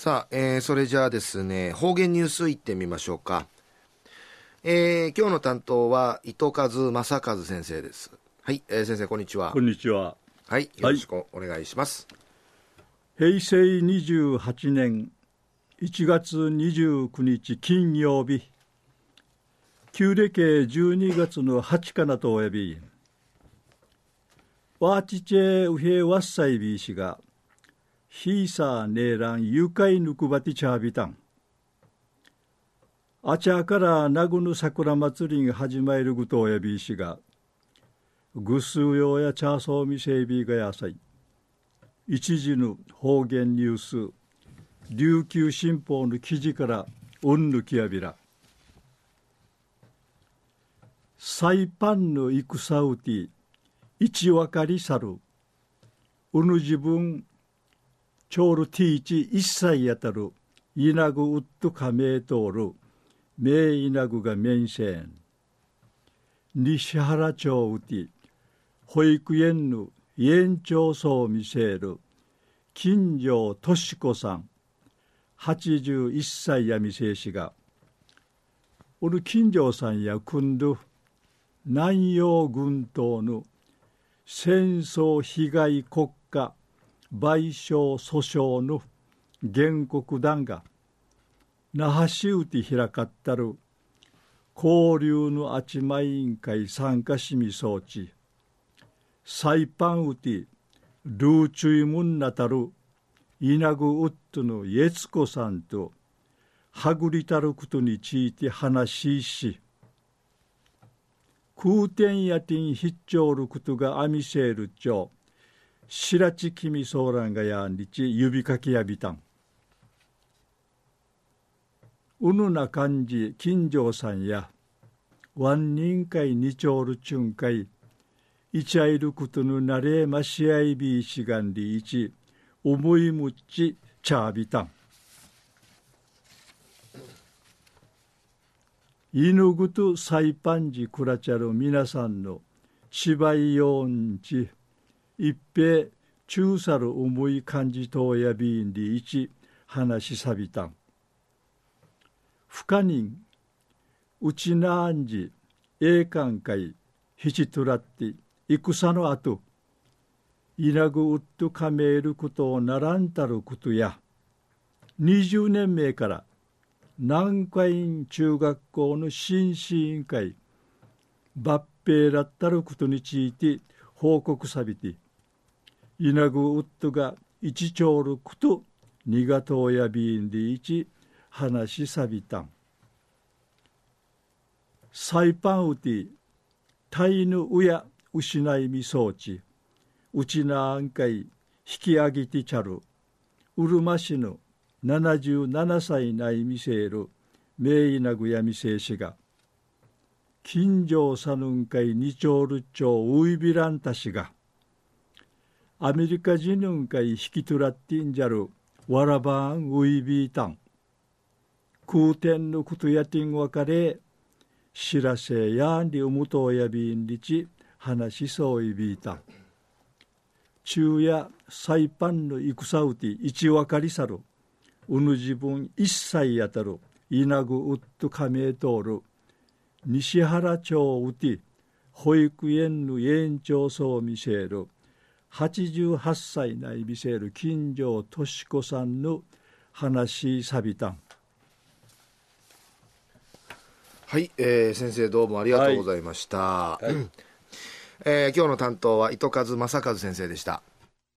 さあ、それじゃあですね、方言ニュースいってみましょうか。今日の担当は糸数正和先生です。はい、先生こんにちは。 こんにちは。 はい、よろしくお願いします。 平成28年1月29日金曜日、旧暦12月の8かなとおやび、ワーチチェウヘワッサイビー氏が、ヒーサーネーラン誘拐ぬくばてちゃびたん。あちゃからなぐぬ桜祭りが始まるぐとおやびしが、ぐすうようやチャーソーミセイビーがやさい。一時の方言ニュース、琉球新報の記事からうんぬきやびら。サイパンの戦うて、一わかりさる。うぬ自分、ちょうるティーチ一切やたる。いなぐうっとかめいとおる。めいなぐがめんせん。西原町うて、保育園の園長層を見せる。金城敏子さん、81歳やみせしが、おる金城さんや組んど、南洋群島の戦争被害国家賠償訴訟の原告団が、那覇市うて開かったる交流のあちま委員会参加しみ装置、サイパンうてルーチュイムンナタルイナグウッドのイエツコさんとはぐりたることについて話し、空天やてん必聴ることがあみせるちょ、しらちきみそうらんがやんりち指かきやびたん。うぬな感じ金城さんや、ワン人会にちょうるちゅんかい、いちゃいることのなれましあいびいしがんりいち、思いむっちちゃびたん。犬ぐとサイパンジクラチャル皆さんの芝居よんち、一平中さる思い感じとやびんりいち話しさびたん。不可人、うちなあんじ、栄冠会、ひちとらって、戦のあと、いなぐうっとかめることをならんたることや、20年前から南海中学校の新市委員会、抜兵だったることについて報告さびて、いなぐうっとが一丁ること、にがとうやびんでいち話しさびたん。サイパンうて、タイヌウや失いみ装置、うちなあんかい引き上げてちゃる、うるま市の77歳ないみせる、めいなぐやみせしが、近所さぬんかいにちょうるちょういびらんたしが、アメリカ人ぬんかい引きとらってんじゃる、わらばんういびいたん。空天のことやてんわかれ、知らせやんりうむとやびんりち、話しそういびいたん。昼夜サイパンの戦うて一わかりさる、うぬ自分一切やたる、いなぐうっとかめいとおる、西原町うて、保育園の園長層を見せる、88歳ない見せる金城敏子さんの話さびたん。 はい、先生どうもありがとうございました。はいはい、今日の担当は糸数正和先生でした。